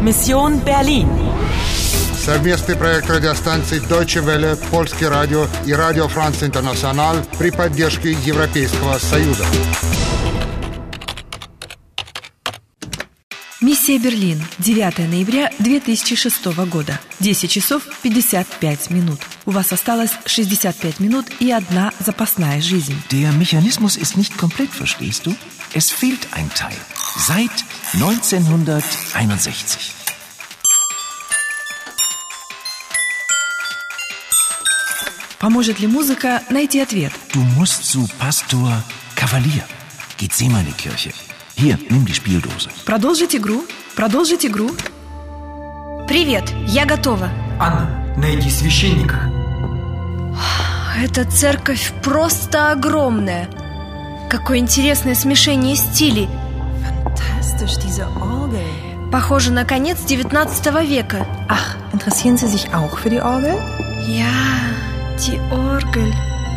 Mission Berlin. Совместный проект радиостанций Deutsche Welle, Польский радио и Радио Франц Интернационал при поддержке Европейского Союза. Миссия Берлин. 9 ноября 2006 года. 10 часов 55 минут. У вас осталось 65 минут и одна запасная жизнь. Der Mechanismus ist nicht komplett, verstehst du? Es fehlt ein Teil. Seit 1961. Поможет ли музыка найти ответ? Du musst zu Pastor Kavalier. Gethsemane-Kirche. Hier, nimm die Spieldose. Продолжить игру. Продолжить игру. Привет, я готова. Анна, найди священника. Эта церковь просто огромная. Какое интересное смешение стилей. Fantastisch, diese Orgel. Похоже на конец 19 века. Ach, interessieren Sie sich auch für die Orgel? Ja, die Orgel.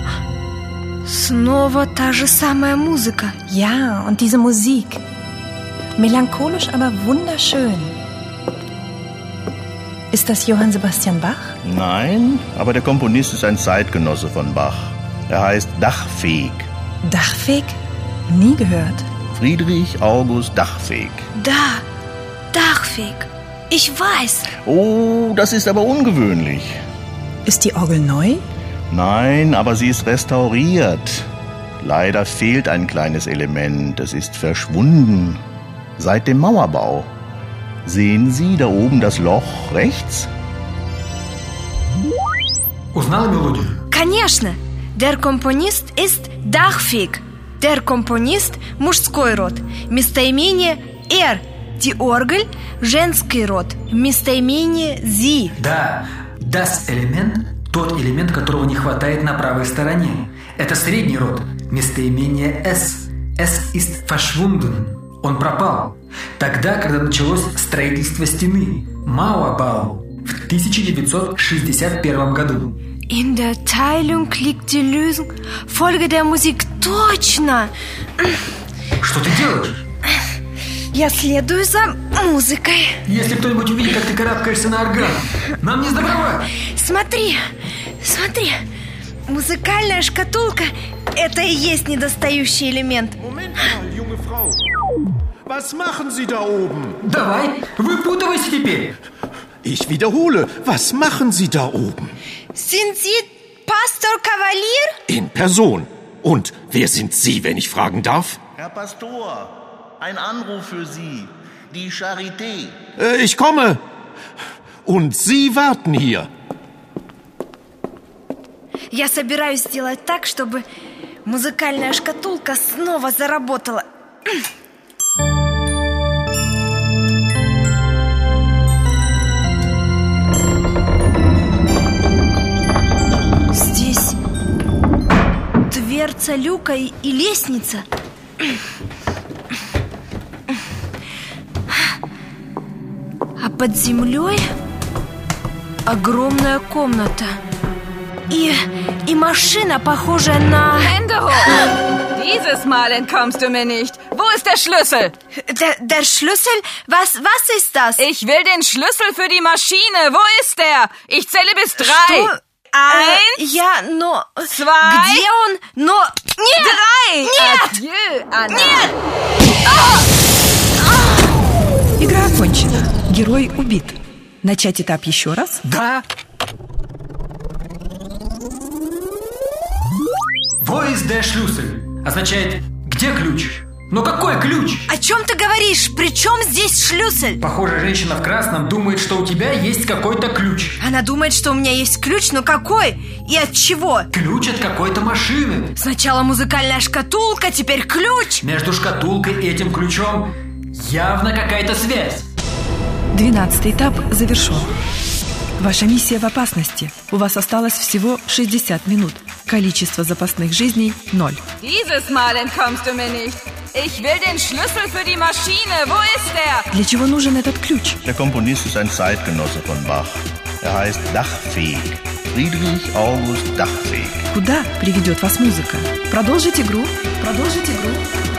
Снова та же самая музыка. Ja, und diese Musik. Melancholisch, aber wunderschön. Ist das Johann Sebastian Bach? Nein, aber der Komponist ist ein Zeitgenosse von Bach. Er heißt Dachfeg. Dachfeg? Nie gehört. Friedrich August Dachfeg. Да, Dachfeg. Ich weiß. Oh, das ist aber ungewöhnlich. Ist die Orgel neu? Nein, aber sie ist restauriert. Leider fehlt ein kleines Element. Es ist verschwunden. Seit dem Mauerbau. Sehen Sie da oben das Loch rechts? Узнала мелодию? Конечно. Der Komponist ist Dachfeg. Der Komponist – мужской род. Местоимение er. Die Orgel – женский род. Местоимение sie. Да, das элемент – тот элемент, которого не хватает на правой стороне. Это средний род. Местоимение es. Es ist verschwunden. Он пропал. Тогда, когда началось строительство стены Мауэrbau в 1961 году. In der Teilung liegt die Lösung. Folge der Musik. Точно! Что ты делаешь? Я следую за музыкой. Если кто-нибудь увидит, как ты карабкаешься на орган, нам не сдобровать. Смотри, смотри. Музыкальная шкатулка – это и есть недостающий элемент. Moment mal, junge Frau. Was machen Sie da oben? Давай, выпутывайся теперь. Ich wiederhole, was machen Sie da oben? Sind Sie Pastor Kavalier? In Person. Und wer sind Sie, wenn ich fragen darf? Herr Pastor, ein Anruf für Sie. Die Charité. Ich komme. Und Sie warten hier. Я собираюсь сделать так, чтобы музыкальная шкатулка снова заработала. Здесь дверца люка и лестница. А под землей огромная комната. И машина, похожая на... Hände hoch! Dieses Mal entkommst du mir nicht. Wo ist der Schlüssel? Der Schlüssel? Was ist das? Ich will den Schlüssel für die Maschine. Wo ist der? Ich zähle bis 3. Что? 1, Я, но... 2. Где он? Но... Нет! 3. Нет! Adieu, Anna. Нет! Игра окончена. Герой убит. Начать этап еще раз? Да. Wo ist der Schlüssel? Означает, где ключ? Но какой ключ? О чем ты говоришь? При чем здесь шлюссель? Похоже, женщина в красном думает, что у тебя есть какой-то ключ. Она думает, что у меня есть ключ, но какой? И от чего? Ключ от какой-то машины. Сначала музыкальная шкатулка, теперь ключ. Между шкатулкой и этим ключом явно какая-то связь. 12-й этап завершен. Ваша миссия в опасности. У вас осталось всего 60 минут. Количество запасных жизней – 0. Dieses Mal entkommst du mir nicht. Ich will den Schlüssel für die Maschine. Wo ist der? Для чего нужен этот ключ? Der Komponist ist ein Zeitgenosse von Bach. Er heißt Dachfeg. Friedrich August Dachfeg. Куда приведет вас музыка? Продолжить игру. Продолжить игру.